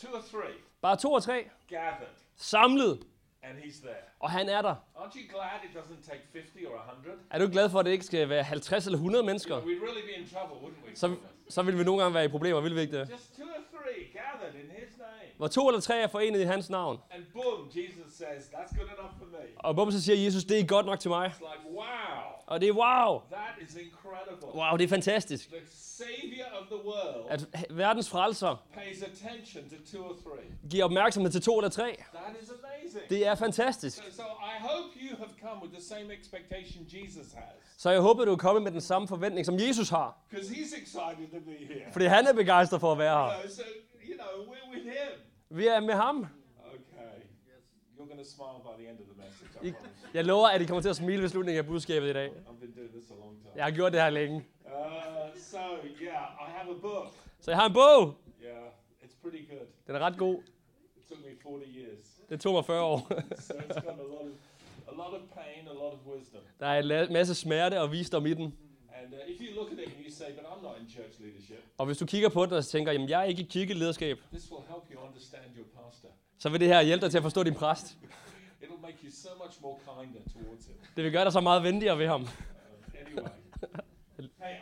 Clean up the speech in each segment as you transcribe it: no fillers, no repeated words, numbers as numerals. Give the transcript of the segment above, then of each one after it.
2 or 3 Bare 2 og 3 gathered, samlet, and he's there. og han er der. Aren't you glad it doesn't take 50 or 100? Er du glad for, at det ikke skal være 50 eller 100 mennesker? We'd really be in trouble, wouldn't we? Så vil vi nogle gange være i problemer, vil vi ikke det? Just 2 or 3 gathered in his name. Hvor 2 eller 3 er forenet i hans navn. And boom, Jesus says, that's good enough for me. Og bum, så siger Jesus, det er godt nok til mig. It's like, wow, Og det er wow. that is incredible. Wow, det er fantastisk. The Savior of the world At verdens frelser pays attention to 2 or 3. giver opmærksomhed til 2 eller 3. That is amazing. Det er fantastisk. So I hope you have come with the same expectation Jesus has. Så jeg håber, du er kommet med den samme forventning, som Jesus har. Because he's excited to be here. Fordi han er begejstret for at være her. So, we're with him. Vi er med ham. Okay. You're going to smile by the end of the message, I promise. Jeg lover, at I kommer til at smile ved slutningen af budskabet i dag. I've been doing this a long time. Jeg har gjort det her længe. So, yeah, I have a book. Så jeg har en bog. Yeah, it's pretty good. Den er ret god. It took me 40 years. Det tog mig 40 år. So it's got a lot of pain, a lot of wisdom. Der er en masse smerte og visdom i den. And if you look at it and you say, but I'm not in church leadership, Og hvis du kigger på den og tænker, jamen jeg er ikke i kirkelederskab, this will help you understand your pastor. så vil det her hjælpe dig til at forstå din præst. It'll make you so much more kinder towards him. Det vil gøre dig så meget venligere ved ham. Anyway. Hey,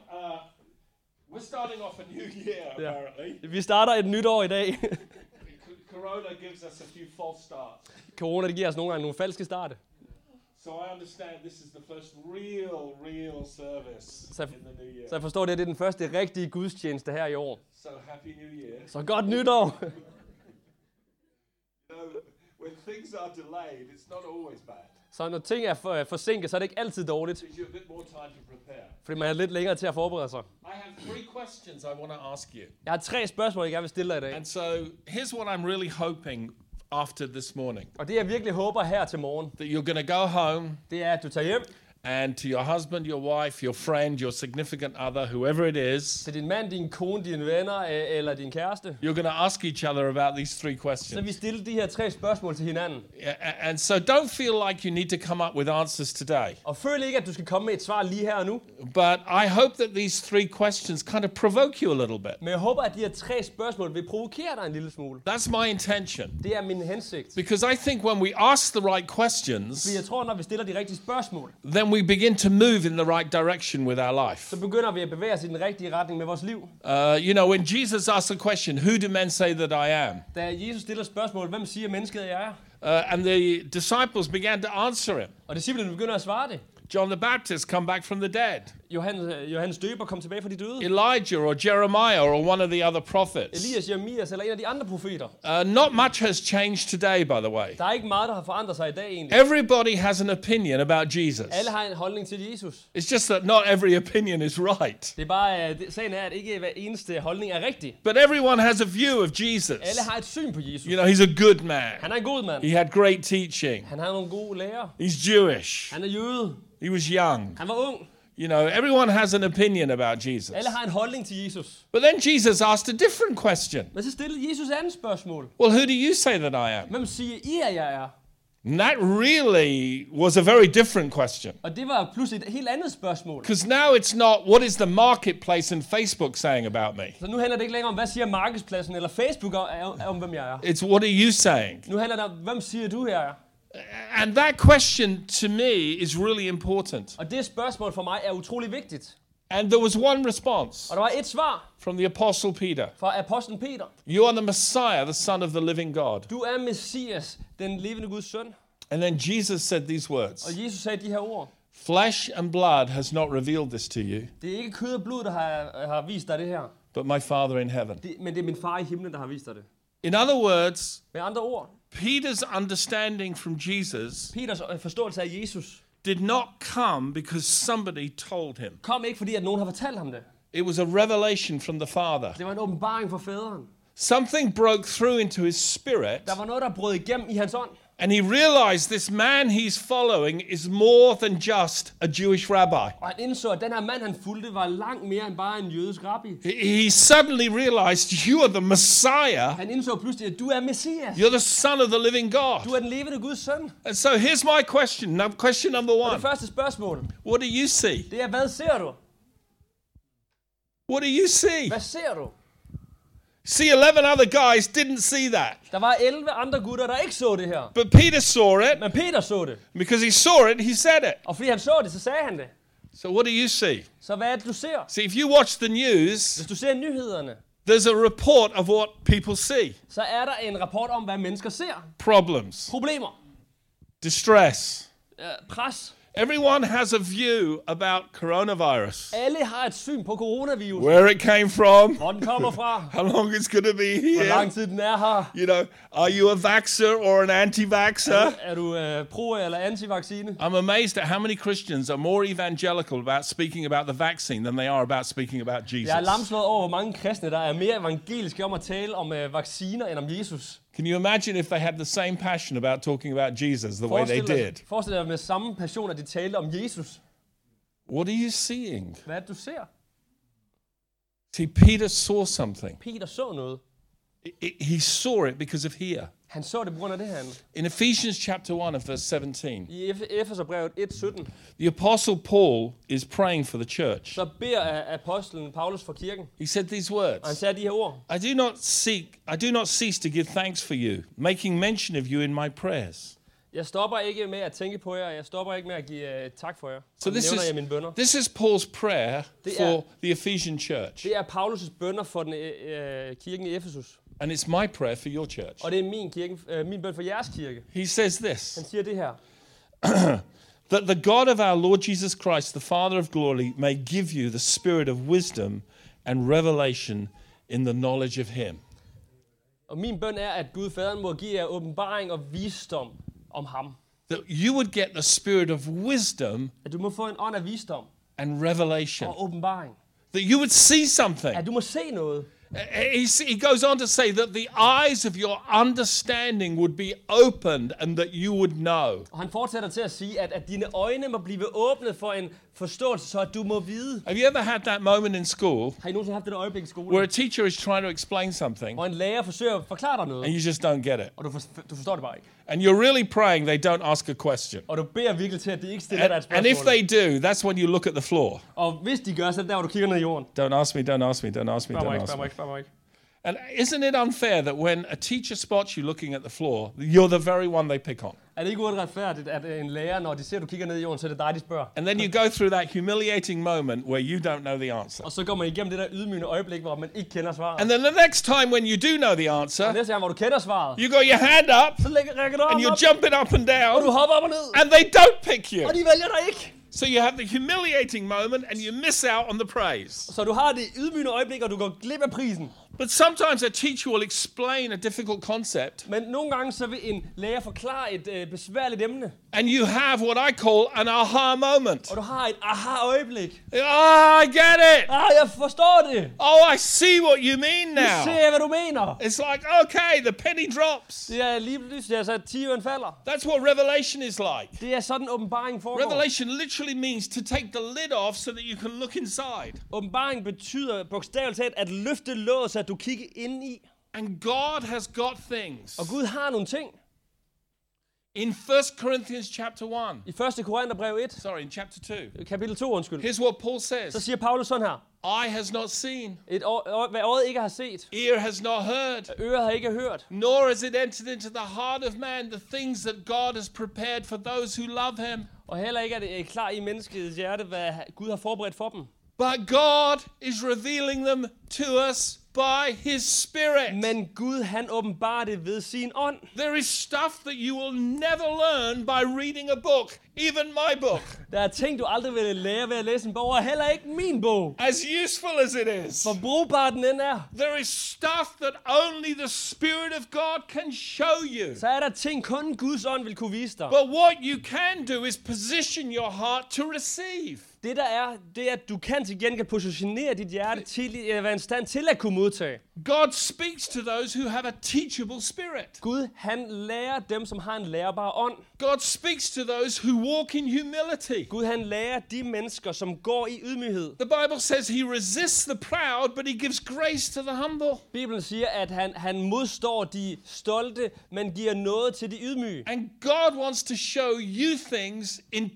we're starting off a new year, apparently. Vi starter et nyt år i dag. Corona gives us a few false starts. Corona, det giver os nogle gange nogle falske starte. So I understand this is the first real service Så, in the new year. så jeg forstår, det er den første rigtige gudstjeneste her i år. So happy new year. Så godt nytår! You know, when things are delayed, it's not always bad. Så når ting er forsinket, så er det ikke altid dårligt. It gives you a bit more time to prepare. Fordi man er lidt længere til at forberede sig. I have 3 questions I want to ask you. Jeg har 3 spørgsmål, jeg gerne vil stille dig i dag. And so here's what I'm really hoping after this morning. Og det jeg virkelig håber her til morgen, That you're going to go home det er, at du tager hjem and to your husband, your wife, your friend, your significant other, whoever it is, til din mand, din kone, dine venner eller din kæreste. you're going to ask each other about these 3 Så questions. vi stiller de her 3 spørgsmål til hinanden. And so don't feel like you need to come up with answers today. Og føl ikke, at du skal komme med et svar lige her og nu. But I hope that these 3 questions kind of provoke you a little bit. Men jeg håber, at de her 3 spørgsmål vil provokere dig en lille smule. That's my intention. Det er min hensigt. Because I think when we ask the right questions, Fordi jeg tror, når vi stiller de rigtige spørgsmål, then we begin to move in the right direction with our life. så begynder vi at bevæge os i den rigtige retning med vores liv. When Jesus asks a question, who do men say that I am? Da Jesus stiller spørgsmål, hvem siger mennesket, at jeg er? And the disciples began to answer him. Og disciplene begynder at svare det. John the Baptist come back from the dead. Johannes døber kom tilbage fra de døde. Elijah or Jeremiah or one of the other prophets. Elias, Jeremias eller en af de andre profeter. Not much has changed today, by the way. Der er ikke meget, der har forandret sig i dag egentlig. Everybody has an opinion about Jesus. Alle har en holdning til Jesus. It's just that not every opinion is right. Det er bare, sagen er, at ikke hver eneste holdning er rigtig. But everyone has a view of Jesus. Alle har et syn på Jesus. He's a good man. Han er en god mand. He had great teaching. Han har nogle gode lærer. He's Jewish. Han er jøde. He was young. Han var ung. Everyone has an opinion about Jesus. Alle har en holdning til Jesus. But then Jesus asked a different question. Men så stillede Jesus andet spørgsmål. Well, who do you say that I am? Hvem siger I, at jeg er? And that really was a very different question. Og det var pludselig et helt andet spørgsmål. Because now it's not, what is the marketplace and Facebook saying about me? Så nu handler det ikke længere om, hvad siger markedspladsen eller Facebook om hvem jeg er. It's, what are you saying? Nu handler det om, hvem siger du, jeg er? And that question to me is really important. Og det spørgsmål for mig er utrolig vigtigt. And there was one response Og der var et svar from the Apostle Peter. fra apostlen Peter. You are the Messiah, the Son of the living God. Du er Messias, den levende Guds søn. And then Jesus said these words. Og Jesus sagde de her ord. Flesh and blood has not revealed this to you, Det er ikke kød og blod, der har vist dig det her. but my Father in heaven. Men det er min far i himlen, der har vist dig det. In other words, Med andre ord, Peter's understanding from Jesus Peters forståelse af Jesus did not come because somebody told him. kom ikke, fordi at nogen har fortalt ham det. It was a revelation from the Father. Det var en åbenbaring fra faderen. Something broke through into his spirit, Der var noget, der brød igennem i hans ånd. and he realized this man he's following is more than just a Jewish rabbi. Og han indså, at den her mand, han fulgte, var langt mere end bare en jødisk rabbi. He suddenly realized you are the Messiah. Han indså pludselig, at du er Messias. You're the Son of the living Du God. er den levende Guds søn. And so here's my question. Question number Og one. det første spørgsmål, What do you see? det er, hvad ser du? What do you see? Hvad ser du? See, 11 other guys didn't see that. Der var 11 andre gutter, der ikke så det her. But Peter saw it. Men Peter så det. Because he saw it, he said it. Og fordi han så det, så sagde han det. So what do you see? Så hvad er det, du ser? See, if you watch the news, Hvis du ser nyhederne, there's a report of what people see. så er der en rapport om, hvad mennesker ser. Problems, Problemer. distress. Pres. Everyone has a view about coronavirus. Alle har et syn på coronavirus. Where it came from, Hvor den kommer fra. how long it's going to be Hvor here. lang tid den er her. You know, are you a vaxxer or an anti-vaxxer? Er du pro- eller anti-vaccine? I'm amazed at how many Christians are more evangelical about speaking about the vaccine than they are about speaking about Jesus. Jeg er lamslået over, hvor mange kristne, der er mere evangeliske om at tale om vacciner end om Jesus. Can you imagine if they had the same passion about talking about Jesus the way they did? Forestil dig med samme passion, at de talte om Jesus. What are you seeing? Hvad er det, du ser? See, Peter saw something. Peter så noget. He saw it because of here. Han så det på grund af det her. In Ephesians chapter 1 and verse 17, I Efeserbrevet 1:17, the apostle Paul is praying for the church. så beder apostlen Paulus for kirken. He said these Og han words, sagde de her ord. I do not cease to give thanks for you, making mention of you in my prayers. Jeg stopper ikke med at tænke på jer, og jeg stopper ikke med at give tak for jer. So Og this nævner is, jeg mine bønner. this is Paul's prayer Det for er- the Ephesian church. Det er Paulus' bønner for den, kirken i Efesus. And it's my prayer for your church. Og det er min bøn for jeres kirke. He says this, Han siger det her. that the God of our Lord Jesus Christ, the Father of glory, may give you the spirit of wisdom and revelation in the knowledge of him. Og min bøn er, at Gud Faderen må give jer åbenbaring og visdom om ham. That you would get the spirit of wisdom At du må få en ånd af visdom and revelation. og åbenbaring. That you would see something. At du må se noget. He goes on to say that the eyes of your understanding would be opened and that you would know. Og han fortsætter til at sige, at dine øjne må blive åbnet for en forståelse, så at du må vide. Have you ever had that moment in school Har I nogensinde haft det øjeblik i where skolen, a teacher is trying to explain something hvor en lærer forsøger at forklare dig noget, and you just don't get it? og du forstår det bare ikke. And you're really praying they don't ask a question. Og du beder virkelig til, at de ikke stiller dig et And if spørgsmål. they do, that's when you look at the floor. Og hvis de gør, så er det der, hvor du kigger ned i jorden. Don't ask me, don't ask me, don't ask me, Spørg mig don't ikke, ask spørg mig me. ikke, spørg mig ikke. And isn't it unfair that when a teacher spots you looking at the floor, you're the very one they pick on? Er det ikke uretfærdigt, at en lærer, når de ser, at du kigger ned i jorden, så er det dig, de spørger? And then you go through that humiliating moment where you don't know the answer. Og så går man igennem det der ydmygende øjeblik, hvor man ikke kender svaret. And then the next time when you do know the Og answer, næste gang, hvor du kender svaret, you got your hand up så rækker du and armen you're op, jumping up and og du down hopper op og ned, and they don't pick you. og de vælger dig ikke. So you have the humiliating moment and you miss out on the praise. Så du har det ydmygende øjeblik, og du går glip af prisen. But sometimes a teacher will explain a difficult concept Men nogle gange så vil en lærer forklare et besværligt emne, and you have what I call an aha moment. og du har et aha-øjeblik. Oh, I get it. Jeg forstår det. Oh, I see what you mean Nu ser now. jeg, hvad du mener. It's like, okay, the penny drops. Det er lige pludselig, altså, 10'eren falder. That's what revelation is like. Det er sådan, åbenbaring foregår. Revelation literally means to take the lid off so that you can look inside. Åbenbaring betyder bogstaveligt talt at løfte låget, så at du kigger ind i. And God has got things. Og Gud har nogle ting. In 1 Corinthians chapter 1, I 1. Korintherbrev 1, sorry, in chapter 2, kapitel 2, undskyld, here's what Paul så says. siger Paulus sådan her. Eye has not seen, Hvad øjet ikke har set, ear has not heard, øret har ikke hørt, nor has it entered into the heart of man the things that God has prepared for those who love him. og heller ikke er det klar i menneskets hjerte, hvad Gud har forberedt for dem. But God is revealing them to us by his Spirit. Men Gud, han åbenbarer det ved sin ånd. There is stuff that you will never learn by reading a book, even my book, Der er ting, du aldrig vil lære ved at læse en bog, og heller ikke min bog. as useful as it is. For brugbar den end er, There is stuff that only the Spirit of God can show you. så er der ting, kun Guds ånd vil kunne vise dig. But what you can do is position your heart to receive. Det der er, det er, at du kan til gengæld positionere dit hjerte til at være i stand til at kunne modtage. God speaks to those who have a teachable spirit. Gud, han lærer dem, som har en lærbar ånd. God speaks to those who walk in humility. Gud, han lærer de mennesker, som går i ydmyghed. The Bible says he resists the proud, but he gives grace to the humble. Bibelen siger, at han modstår de stolte, men giver noget til de ydmyge. And God wants to show you things in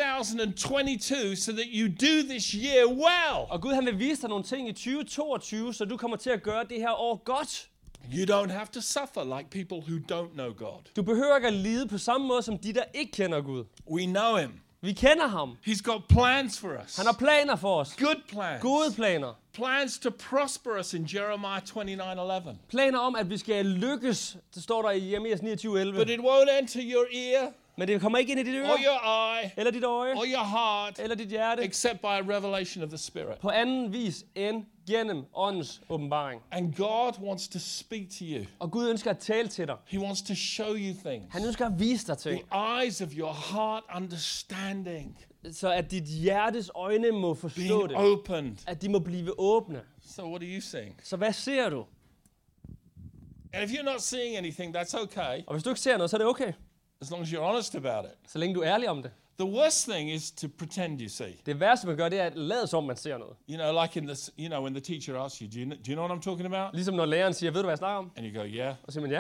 2022 so that you do this year well. Og Gud, han vil vise dig nogle ting i 2022, så du kommer til at gøre det det her år godt. You don't have to suffer like people who don't know God. Du behøver ikke at lide på samme måde som de, der ikke kender Gud. We know him. Vi kender ham. He's got plans for us. Han har planer for os. Good plans. Gode planer. Plans to prosper us in Jeremiah 29:11. Planer om, at vi skal lykkes. Det står der i Jeremias 29:11. But it won't enter your ear Men det kommer ikke ind i dit øre, or your eye eller dit øje, or your heart eller dit hjerte, except by a revelation of the Spirit. på anden vis end gennem åndens åbenbaring. And God wants to speak to you. Og Gud ønsker at tale til dig. He wants to show you things. Han ønsker at vise dig ting, The eyes of your heart understanding så at dit hjertes øjne må forstå being det. opened. At de må blive åbne. So what are you seeing? Så hvad ser du? And if you're not seeing anything, that's okay, Og hvis du ikke ser noget, så er det okay. as long as you're honest about it. Så længe du er ærlig om det. The worst thing is to pretend you see. Det værste, man gør, det er at lade som, man ser noget. You know, like in this, you know, when the teacher asks you, do you know what I'm talking about? Ligesom når læreren siger, ved du, hvad jeg snakker om? And you go, yeah, Og så siger man, ja.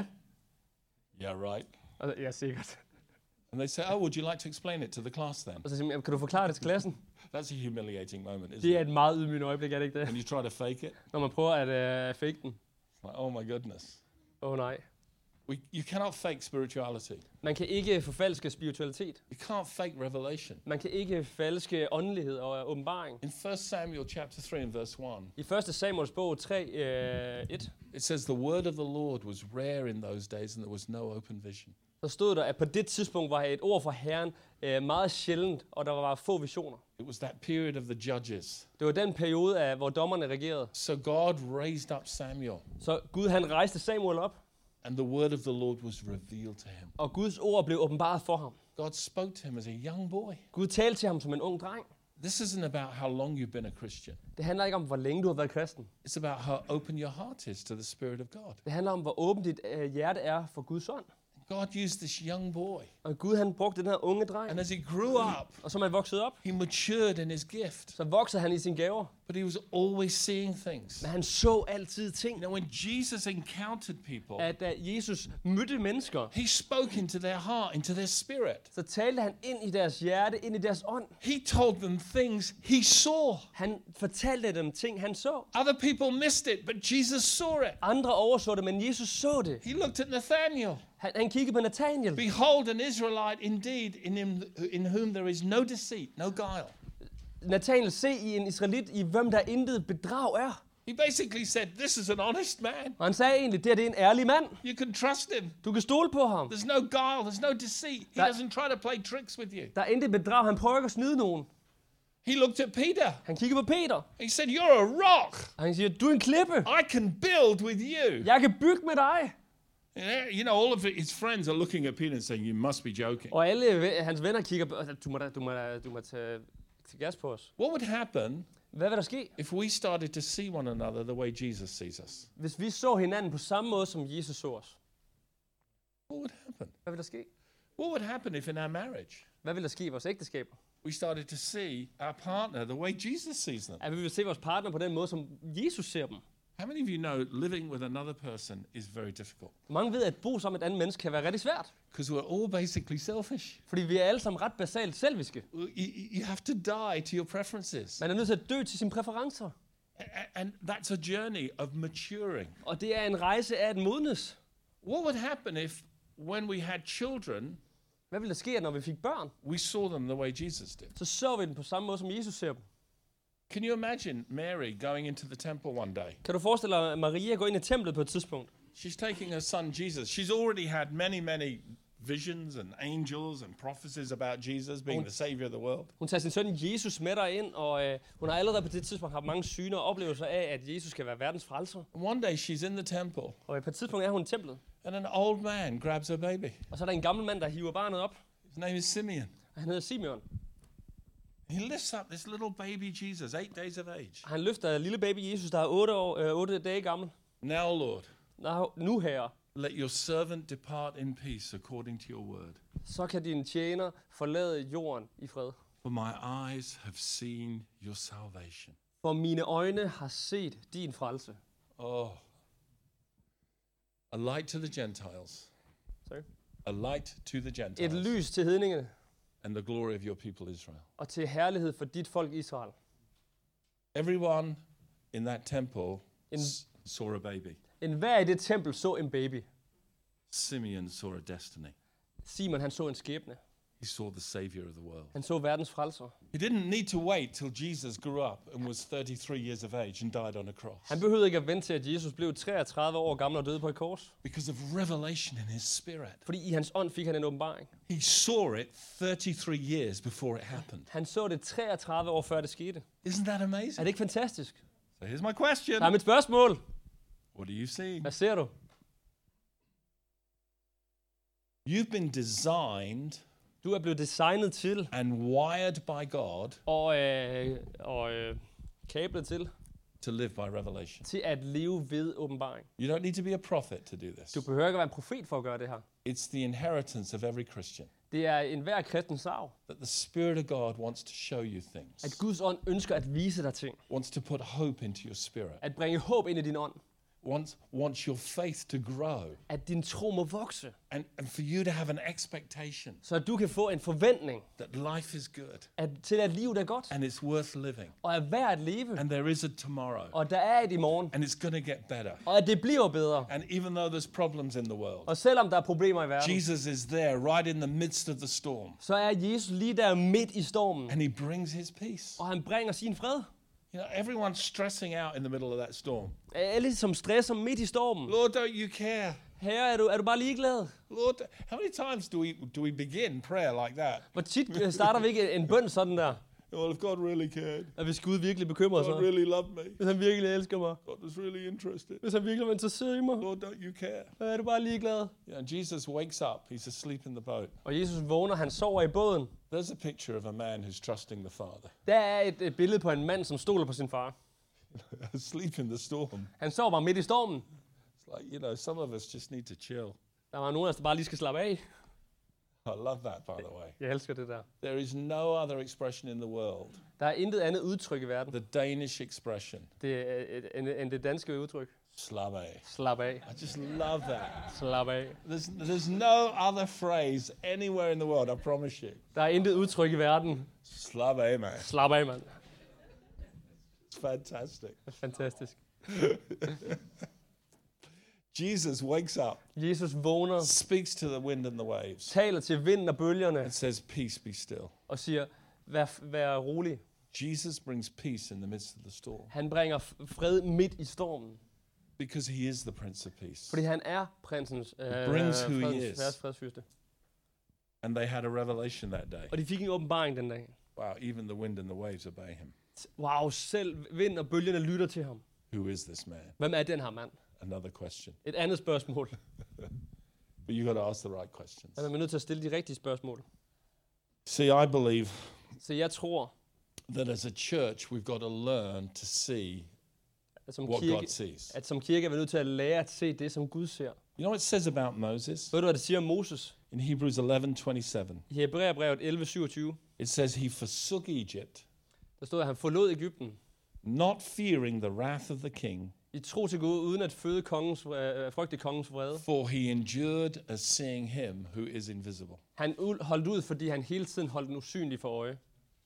yeah, right. Og så, ja, sikkert. And they say, oh, would you like to explain it to the class then? Og så siger man, kan du forklare det til klassen? That's a humiliating moment, isn't Det er it? et meget ydmygende øjeblik, er det ikke det? When you try to fake it. Når man prøver at fake den. It's like, oh my goodness. Nej. You cannot fake spirituality. Man kan ikke forfalske spiritualitet. You can't fake revelation. Man kan ikke falske åndelighed og åbenbaring. In 1 Samuel chapter 3 and verse 1, I 1. Samuels bog 3:1, it says, the word of the Lord was rare in those days and there was no open vision. så stod der, at på det tidspunkt var et ord fra Herren meget sjældent, og der var få visioner. It was that period of the judges. Det var den periode, hvor dommerne regerede. So God raised up Samuel Så Gud han rejste Samuel op, and the word of the Lord was revealed to him. og Guds ord blev åbenbaret for ham. God spoke to him as a young boy. Gud talte til ham som en ung dreng. This isn't about how long you've been a Christian. Det handler ikke om, hvor længe du har været kristen. It's about how open your heart is to the Spirit of God. Det handler om, hvor åbent dit hjerte er for Guds ånd. God used this young boy. Og Gud han brugte den her unge dreng, And as he grew up, og som han voksede op, he matured in his gift. så voksede han i sine gaver. But he was always seeing things. Men han så altid ting. You know, when Jesus encountered people, At da Jesus mødte mennesker, he spoke into their heart, into their spirit. så talte han ind i deres hjerte, ind i deres ånd. He told them things he saw. Han fortalte dem ting, han så. Other people missed it, but Jesus saw it. Andre overså det, men Jesus så det. He looked at Nathanael. Han kiggede på Nathanael. Behold, an Israelite indeed, in whom there is no deceit, no guile. Nathanael, se i en israelit, i hvem der intet bedrag er. He basically said, this is an honest man. Og han sagde egentlig, det er en ærlig mand. You can trust him. Du kan stole på ham. There's no guile, there's no deceit. He doesn't try to play tricks with you. Der er intet bedrag. Han prøver ikke at snyde nogen. He looked at Peter. Han kigger på Peter. He said, you're a rock. Og han siger, du er en klippe. I can build with you. Jeg kan bygge med dig. You know, all of his friends are looking at Peter and saying, you must be joking. Og alle hans venner kigger på, du må tage gas på os. What would happen Hvad vil der ske, if we started to see one another the way Jesus sees us? hvis vi så hinanden på samme måde, som Jesus så os? What would happen? Hvad vil der ske? What would happen if in our marriage Hvad vil der ske i vores ægteskaber? we started to see our partner the way Jesus sees them? At vi vil se vores partner på den måde, som Jesus ser dem. How many of you know living with another person is very difficult? Mange ved, at bo sammen med et andet menneske kan være rigtig svært. Because we're all basically selfish. Fordi vi er alle sammen ret basalt selviske. You have to die to your preferences. Man er nødt til at dø til sine præferencer. And that's a journey of maturing. Og det er en rejse af at modnes. What would happen if, when we had children, Hvad ville der ske, når vi fik børn? we saw them the way Jesus did? Så vi dem på samme måde, som Jesus ser dem. Can you imagine Mary going into the temple one day? Kan du forestille dig, at Maria går ind i templet på et tidspunkt? She's taking her son Jesus. She's already had many visions and angels and prophecies about Jesus being the savior of the world. Hun tager sin søn Jesus med derind, og hun har allerede på det tidspunkt haft mange syner og oplevelser af, at Jesus skal være verdens frelser. And one day she's in the temple Og på et tidspunkt er hun i templet, and an old man grabs her baby. og så er der en gammel mand, der hiver barnet op, His name is Simeon. og han hedder Simeon. He lifts up this little baby Jesus, 8 days of age. Han løfter lille baby Jesus, der er 8 dage gammel. Now, Lord, Nu herre, let your servant depart in peace according to your word. så kan din tjener forlade jorden i fred. For my eyes have seen your salvation. For mine øjne har set din frelse. Oh. A light to the Gentiles. Sorry. A light to the Et Gentiles. lys til hedningene, And the glory of your people Israel. og til herlighed for dit folk Israel. Everyone in that temple saw a baby. Enhver i det tempel så en baby. Simeon saw a destiny. Simon, han så en skæbne. He saw the Savior of the world. Han så verdens frelser. He didn't need to wait till Jesus grew up and was 33 years of age and died on a cross. Han behøvede ikke at vente til, at Jesus blev 33 år gammel og døde på et kors. Because of revelation in his spirit. Fordi i hans ånd fik han en åbenbaring. He saw it 33 years before it happened. Han så det 33 år før det skete. Isn't that amazing? Er det ikke fantastisk? So here's my question. Der er mit spørgsmål. What are you seeing? Hvad ser du? You've been designed Du er blevet designet til and wired by God og kablet to live by revelation. til at leve ved åbenbaring. You don't need to be a prophet to do this. Du behøver ikke at være en profet for at gøre det her. It's the inheritance of every Christian. Det er enhver kristens arv, That the Spirit of God wants to show you at things. Guds ånd ønsker at vise dig ting. Wants to put hope into your spirit. At bringe håb ind i din ånd. Wants your faith to grow. At din tro må vokse. And for you to have an expectation Så at du kan få en forventning that life is good. til at livet er godt. And it's worth living. Og er værd at leve. And there is a tomorrow. Og der er et i morgen. And it's going to get better. Og at det bliver bedre. And even though there's problems in the world, Og selvom der er problemer i verden, Jesus is there right in the midst of the storm. så er Jesus lige der midt i stormen. And he brings his peace. Og han bringer sin fred. You know, everyone's stressing out in the middle of that storm. Alle som stresser midt i stormen. Lord, don't you care? Herre, er du bare ligeglad? Lord, how many times do we begin prayer like that? Hvor tit starter vi ikke en bøn sådan der? Well, if God really cared, At hvis Gud virkelig bekymrer God sig. really loved me, Hvis han virkelig elsker mig. God was really interested. Hvis han virkelig var interesseret i mig. Lord, don't you care? Er du bare ligeglad? Yeah, and Jesus wakes up. He's asleep in the boat. Og Jesus vågner, han sover i båden. There's a picture of a man who's trusting the Father. Der er et billede på en mand, som stoler på sin far. Asleep in the storm. Han sover bare midt i stormen. It's like, you know, some of us just need to chill. Der var nogen af os, der bare lige skal slappe af. I love that, by the way. Jeg elsker det der. There is no other expression in the world. Der er intet andet udtryk i verden. The Danish expression. Det er end det danske udtryk. Slap af. Slap af. I just love that. Slap af. There's no other phrase anywhere in the world, I promise you. Der er intet udtryk i verden. Slap af, man. Slap af, mand. It's fantastic. Det er fantastisk. Jesus wakes up, Jesus vågner, speaks to the wind and the waves, taler til vinden og bølgerne and says, peace, be still. og siger, vær rolig. Jesus brings peace in the midst of the storm Han bringer fred midt i stormen, because he is the Prince of Peace. fordi han er prinsens brings who he is. fredsfyrste. And they had a revelation that day. Og de fik en åbenbaring den dag. Wow, even the wind and the waves obey him. Wow, selv vind og bølgerne lytter til ham. Who is this man? Hvem er den her mand? Another question. Et andet spørgsmål. But you got to ask the right questions. Man er nødt til at stille de rigtige spørgsmål. See, I believe Så jeg tror, that as a church, we've got to learn to see at som what kirke, God sees. at som kirke er vi nødt til at lære at se det, som Gud ser. You know what it says about Moses? Ved du, hvad det siger om Moses? In Hebrews 11:27, I Hebræerbrevet 11:27, it says he forsook Egypt, der stod, at han forlod Egypten not fearing the wrath of the king, i tro til Gud, uden at frygte kongens vrede. for he endured as seeing him who is invisible. Han holdt ud, fordi han hele tiden holdt den usynlige for øje.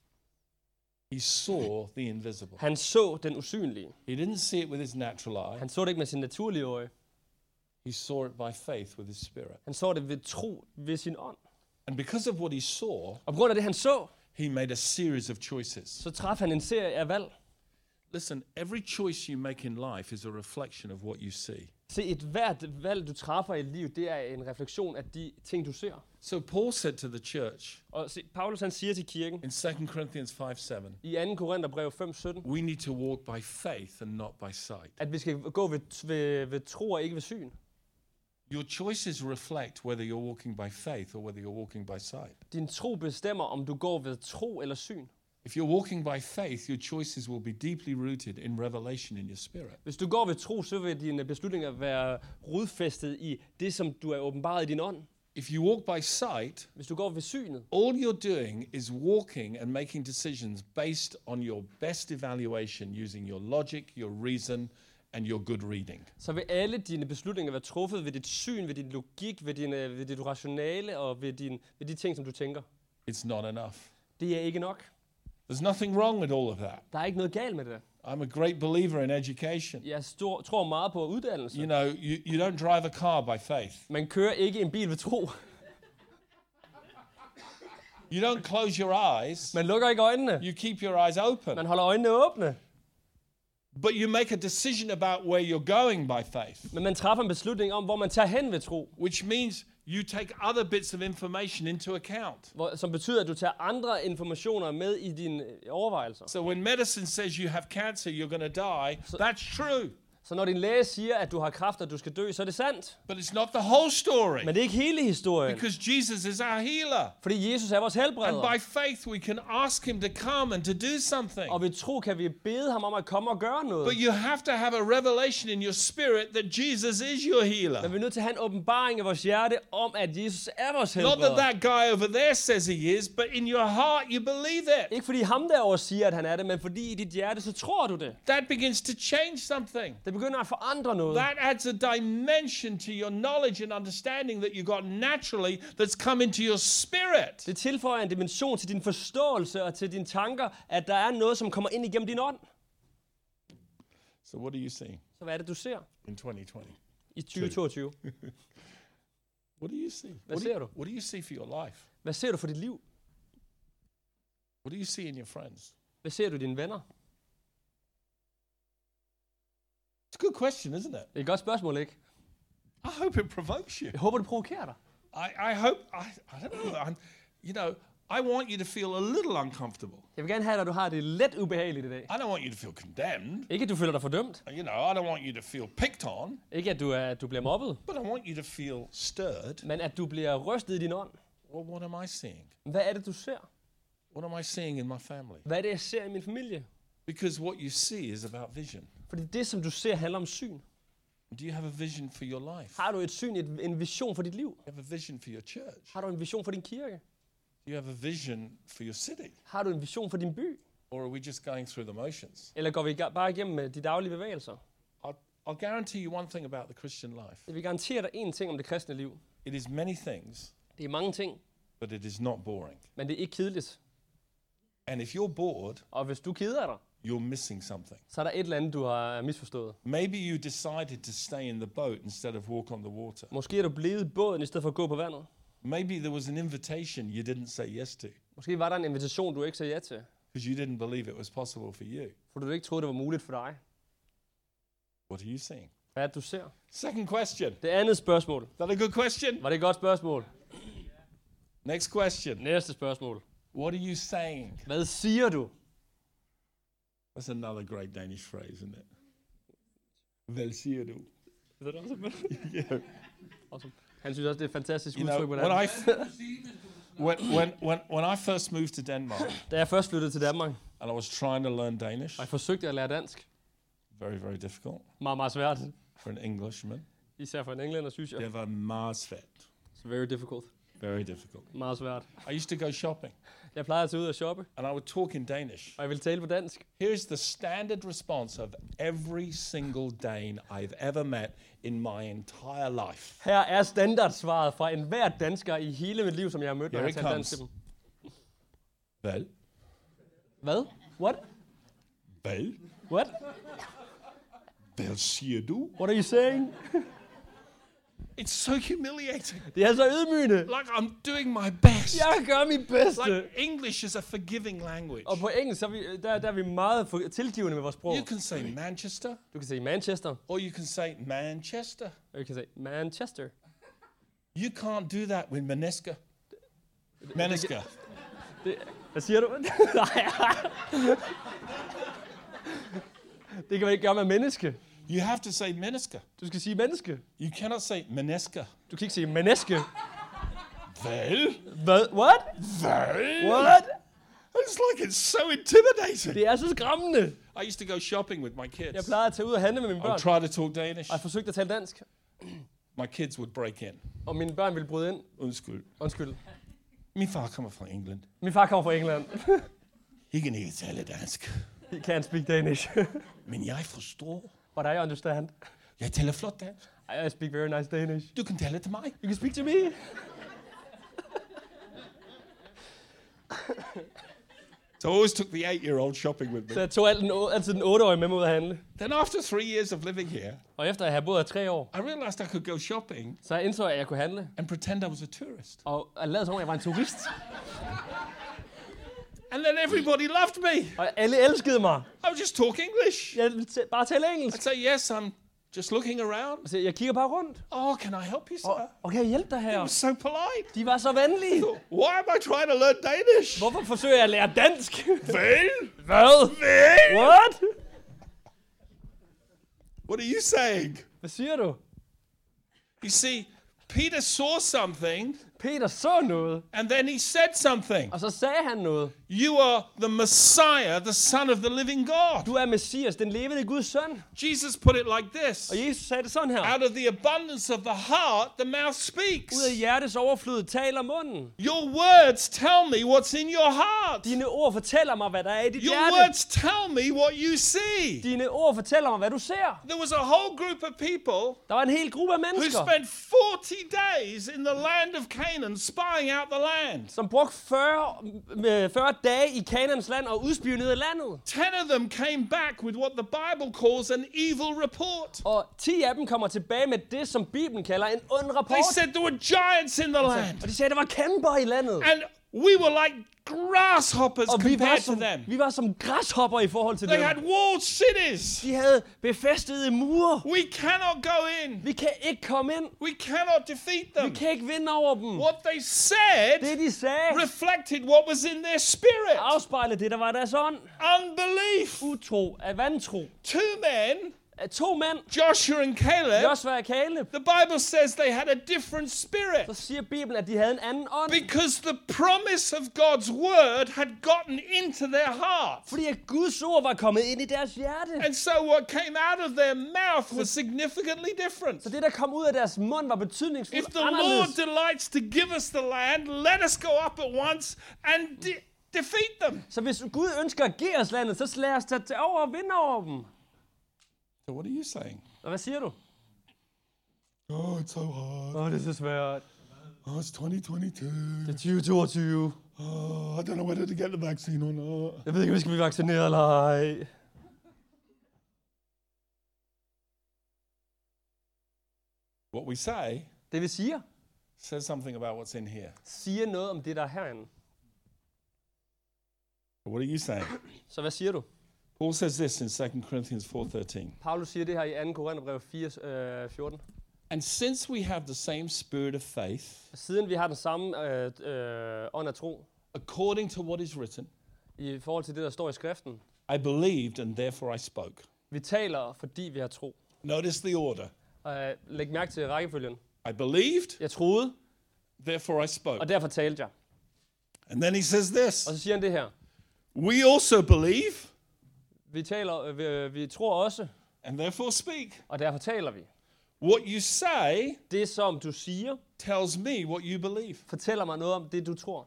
He saw the invisible. Han så den usynlige. He didn't see it with his natural eye. Han så det ikke med sin naturlige øje. He saw it by faith with his spirit. Han så det ved tro ved sin ånd. And because of what he saw, Og på grund af det, han så, he made a series of choices. så traf han en serie af valg. Listen, every choice you make in life is a reflection of what you see. Se, et hvert valg, du træffer i livet, det er en refleksion af de ting, du ser. So Paul said to the church Og se, Paulus han siger til kirken in 2 Corinthians 5:7, i 2. Korintherbrev 5:17, we need to walk by faith and not by sight. at vi skal gå ved tro og ikke ved syn. Your choices reflect whether you're walking by faith or whether you're walking by sight. Din tro bestemmer, om du går ved tro eller syn. If you're walking by faith, your choices will be deeply rooted in revelation in your spirit. Hvis du går ved tro, så vil dine beslutninger være rodfæstet i det, som du er åbenbaret i din ånd. If you walk by sight, Hvis du går ved synet, all you're doing is walking and making decisions based on your best evaluation using your logic, your reason, and your good reading. så vil alle dine beslutninger være truffet ved dit syn, ved din logik, ved dit rationale og ved de ting, som du tænker. It's not enough. Det er ikke nok. There's nothing wrong with all of that. Der er ikke noget galt med det. I'm a great believer in education. Jeg tror meget på uddannelse. You know, you don't drive a car by faith. Man kører ikke en bil ved tro. You don't close your eyes. Man lukker ikke øjnene. You keep your eyes open. Man holder øjnene åbne. But you make a decision about where you're going by faith. Men man træffer en beslutning om, hvor man tager hen ved tro. Which means you take other bits of information into account. Som betyder, at du tager andre informationer med i dine overvejelser. So when medicine says you have cancer, you're going to die, that's true. Så når din læge siger, at du har kræft, og du skal dø, så er det sandt. But it's not the whole story. Men det er ikke hele historien. Because Jesus is our healer. Fordi Jesus er vores helbreder. And by faith we can ask him to come and to do something. Og ved tro kan vi bede ham om at komme og gøre noget. But you have to have a revelation in your spirit that Jesus is your healer. Men vi er nødt til at have en åbenbaring i vores hjerte om, at Jesus er vores Not helbreder. that guy over there says he is, but in your heart you believe it. Ikke fordi ham derovre siger, at han er det, men fordi i dit hjerte, så tror du det. That begins to change something. Det begynder at forandre noget. That adds a dimension to your knowledge and understanding that you got naturally that's come into your spirit. Det tilføjer en dimension til din forståelse og til dine tanker, at der er noget, som kommer ind igennem din ånd. So what are you seeing Så hvad er det, du ser in 2020? i 2022? What do you see? Hvad ser du? What do you see for your life? Hvad ser du for dit liv? What do you see in your friends? Hvad ser du i dine venner? It's a good question, isn't it? Det er et godt spørgsmål, ikke? I hope it provokes you. Jeg håber, det provokerer dig. I hope, I don't know, you know, I want you to feel a little uncomfortable. Jeg vil gerne have dig, at du har det lidt ubehageligt i dag. I don't want you to feel condemned. Ikke, at du føler dig fordømt. You know, I don't want you to feel picked on. Ikke, at du bliver mobbet. But I want you to feel stirred. Men at du bliver rystet i din ånd. Well, what am I seeing? Hvad er det, du ser? What am I seeing in my family? Hvad er det, jeg ser i min familie? Because what you see is about vision. Fordi det, som du ser, handler om syn. Do you have a vision for your life? Har du et syn, en vision for dit liv? Do you have a vision for your church? Har du en vision for din kirke? Do you have a vision for your city? Har du en vision for din by? Or are we just going through the motions? Eller går vi bare igennem de daglige bevægelser? I'll guarantee you one thing about the Christian life. Jeg vil garantere dig én ting om det kristne liv. It is many things, Det er mange ting, but it is not boring. men det er ikke kedeligt. And if you're bored, Og hvis du keder dig, you're missing something. så er der et eller andet, du har misforstået. Maybe you decided to stay in the boat instead of walk on the water. Måske er du blevet i båden, i stedet for at gå på vandet. Maybe there was an invitation you didn't say yes to Måske var der en invitation, du ikke sagde ja til, because you didn't believe it was possible for you. for du ikke troede, det var muligt for dig. What are you seeing? Hvad er det, du ser? Second question. Det andet spørgsmål. Is that a good question? Var det et godt spørgsmål? Next question. Næste spørgsmål. What are you saying? Hvad siger du? That's another great Danish phrase, isn't it? Hvad siger du? Er det også Yeah. awesome. Han synes også, det er et fantastisk You know, udtryk. Hvordan. when I first moved to Denmark Da jeg først flyttede til Danmark, and I was trying to learn Danish, og jeg forsøgte at lære dansk, very, very difficult meget, meget svært. for an Englishman. Især for en englænder, synes jeg. Det var meget svært. It's very difficult. Very difficult. Meget svært. I used to go shopping Jeg plejede at tage ud og shoppe, and I would talk in Danish. og jeg ville tale på dansk. Here's the standard response of every single Dane I've ever met in my entire life. Her er standardsvaret fra enhver dansker i hele mit liv, som jeg har mødt, når Here jeg it har talt dansk comes. til dem. Hvad? Hvad? What? Hvad? What? Hvad siger du? What are you saying? It's so humiliating. Det er så ydmygende. Like I'm doing my best. Jeg gør mit bedste. Like English is a forgiving language. Og på engelsk, der er vi meget tilgivende med vores sprog. You can say Manchester, Du kan sige Manchester, or you can say Manchester. og du kan sige Manchester. You can't do that with Maneska. Maneska. Hvad siger du? Det kan man ikke gøre med menneske. You have to say Maneska. Du skal sige menneske. You cannot say Maneska. Du kan ikke sige menneske. Hvad? Hvad? What? Hvad? What? It's like it's so intimidating. Det er så skræmmende. I used to go shopping with my Jeg kids. plejede at tage ud og handle med mine I would børn, try to talk Danish. og jeg forsøgte at tale dansk. My kids would break in. Og mine børn ville bryde ind. Undskyld. Undskyld. Min far kommer fra England. Min far kommer fra England. He kan ikke tale dansk. He can't speak Danish. Men jeg forstår. But I understand. Jeg taler flot dansk. I speak very nice Danish. Du kan tale til mig. You can speak to me. So I always took the 8-year-old shopping with Så me. jeg tog altid den 8-årige med mig ud at handle. Then after 3 years of living here, Og efter at have boet her 3 år, I realized I could go shopping så jeg indså jeg, at jeg kunne handle. and pretend I was a tourist. Og jeg lavede som om, jeg var en turist. And then everybody loved me. Og alle elskede mig. I would just talk English. Jeg ville bare tale I'd engelsk. say, yes, I'm just looking around. Så jeg kigger bare rundt. Oh, can I help you, sir? Og kan jeg hjælpe dig It her? was so polite. De var så venlige. Why am I trying to learn Danish? Hvorfor forsøger jeg at lære dansk? Vel? Hvad? Vel? What? What are you saying? Hvad siger du? You see, Peter saw something, Peter så noget, and then he said something. og så sagde han noget. You are the Messiah, the Son of the living God. Du er Messias, den levende Guds søn. Jesus put it like this. Og Jesus sagde det sådan her. Out of the abundance of the heart, the mouth speaks. Ud af hjertets overflod taler munden. Your words tell me what's in your heart. Dine ord fortæller mig, hvad der er i dit Your hjerte. words tell me what you see. Dine ord fortæller mig, hvad du ser. There was a whole group of people Der var en hel gruppe af who mennesker, spent 40 days in the land of Canaan spying out the land. som brugte 40 dage i Kanaans land og udspionede landet. 10 of them came back with what the Bible calls an evil report. Og 10 af dem kommer tilbage med det, som Bibelen kalder en ond rapport. They said there were giants in the land. Og de sagde, at der var kæmper i landet. And we were like grasshoppers Og compared to them. vi var som græshopper i forhold til They had dem. walled cities. De havde befæstede mure. We cannot go in. Vi kan ikke komme ind. We cannot defeat Vi them. kan ikke vinde over dem. What they said Det, de sagde, reflected what was in their spirit. afspejlede det, der var deres ånd. Unbelief. Utro af vantro. 2 men, Af 2 mænd, Joshua and Caleb, Josva og Kaleb, the Bible says they had a different spirit. så siger Bibelen, at de havde en anden ånd. Because the promise of God's word had gotten into their heart. Fordi at Guds ord var kommet ind i deres hjerte. And so what came out of their mouth was significantly different. Så det, der kom ud af deres mund, var If betydningsfuldt the Lord anderledes. delights to give us the land, let us go up at once and defeat them. Så hvis Gud ønsker at give os landet, så lad os tage over og vinde over dem. So what are you saying? Og hvad siger du? Oh, it's so hard. Det er så svært. Oh, it's 2022. Det er 2022. Oh, I don't know whether to get the vaccine or not. Jeg ved ikke, om vi skal blive vaccineret eller ej. What we say Det vi siger, says something about what's in here. siger noget om det, der er herinde. But what are you saying? Så hvad siger du? Paul says this in 2 Corinthians 4:13. Paulus siger det her i 2. Korintherbrev 4:14. And since we have the same spirit of faith, Siden vi har den samme ånd af tro, according to what is written, i forhold til det, der står i skriften. I believed and therefore I spoke. Vi taler, fordi vi har tro. Notice the order. Læg mærke til rækkefølgen. I believed, Jeg troede, therefore I spoke. og derfor talte jeg. And then he says this. Og så siger han det her. We also believe Vi tror også, and therefore speak. og derfor taler vi. What you say Det, som du siger, tells me what you believe. fortæller mig noget om det, du tror.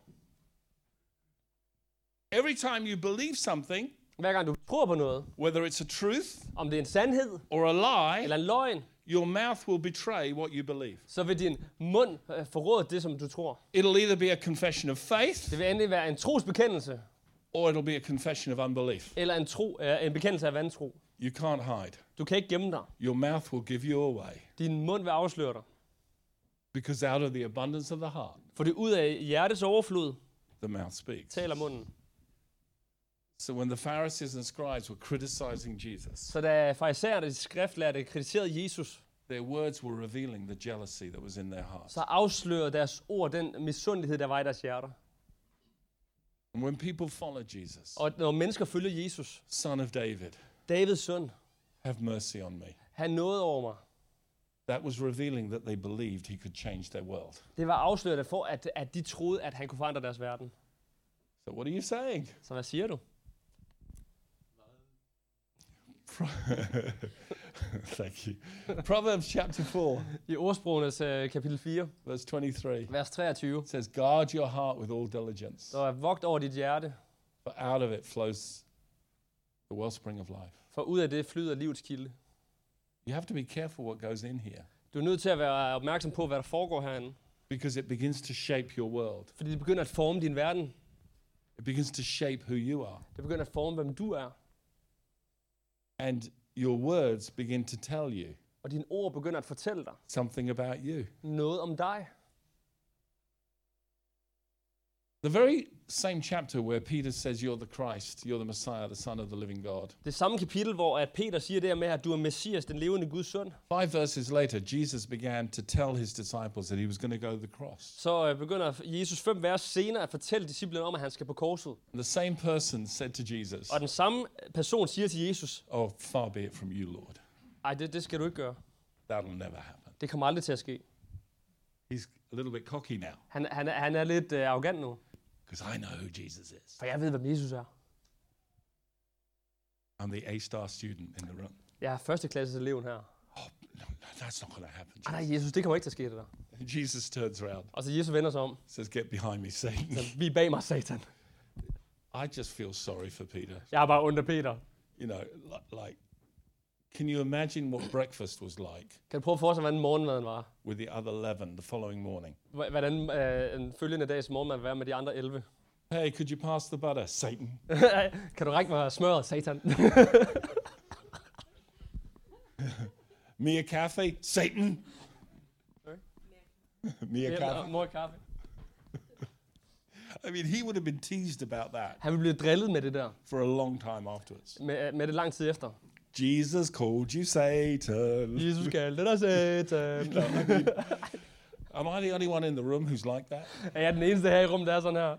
Every time you believe something, Hver gang du tror på noget, whether it's a truth om det er en sandhed or a lie, eller en løgn, your mouth will betray what you believe. så vil din mund forråde det, som du tror. It'll either be a confession of faith Det vil endelig være en trosbekendelse, or it'll be a confession of unbelief. eller en bekendelse af vantro. You can't hide. Du kan ikke gemme dig. Your mouth will give you away Din mund vil afsløre dig. because out of the abundance of the heart, For det ud af hjertets overflod the mouth speaks. taler munden. So when the Pharisees and scribes were criticizing Jesus, Så da farisæerne og de skriftlærte kritiserede Jesus, their words were revealing the jealousy that was in their hearts. så afslørede deres ord den misundelighed, der var i deres hjerter. And when people follow Jesus, Og når mennesker følger Jesus, son of David, Davids søn, have mercy on me. han nåede over mig. That was revealing that they believed he could change their world. Det var afslørende for, at de troede, at han kunne forandre deres verden. So what are you saying? Så hvad siger du? Thank you. Proverbs chapter 4, I ordsprogenes kapitel 4, verse 23. vers 23, It says, guard your heart with all diligence, så er vogt over dit hjerte, for out of it flows the wellspring of life. for ud af det flyder livets kilde. You have to be careful what goes in here Du er nødt til at være opmærksom på, hvad der foregår herinde, because it begins to shape your world. fordi det begynder at forme din verden. It begins to shape who you are. Det begynder at forme, hvem du er. And your words begin to tell you Og dine ord begynder at fortælle dig something about you. noget om dig. The very same chapter where Peter says you're the Christ, you're the Messiah, the Son of the living God. Det samme kapitel, hvor at Peter siger det her med, at du er Messias, den levende Guds søn. 5 verses later, Jesus began to tell his disciples that he was going to go to the cross. Så begynder Jesus 5 vers senere at fortælle disciplene om, at han skal på korset. The same person said to Jesus, Og den samme person siger til Jesus, "Oh, far be it from you, Lord. ej, det skal du ikke gøre. That'll never happen." Det kommer aldrig til at ske. He's a little bit cocky now, Han er lidt arrogant nu, because I know who Jesus is. for jeg ved, hvem Jesus er. I'm the A-star student in the room. Jeg er førsteklasses eleven her. Oh, no, that's not going to happen. Ej, nej, Jesus, det kommer ikke til at ske, det der. Jesus turns around, Og så Jesus vender sig om. says, "Get behind me, Satan." Så vi er bag mig, Satan. I just feel sorry for Peter. Jeg er bare under Peter. You know, like, can you imagine what breakfast was like Kan du prøve at forestille, hvordan morgenmaden var? with the other 11 the following morning? Hvordan en følgende dags morgenmad vil være med de andre 11? Hey, could you pass the butter, Satan? Kan du række mig smøret, Satan? Me a cafe, Satan? Sorry? Me a cafe? Mor kaffe. I mean, he would have been teased about that Han vil blive drillet med det der. for a long time afterwards. Med det lang tid efter. Jesus called you Satan. Jesus kaldte dig Satan. No, I mean, am I the only one in the room who's like that? Er jeg den eneste her i rummet, der er sådan her?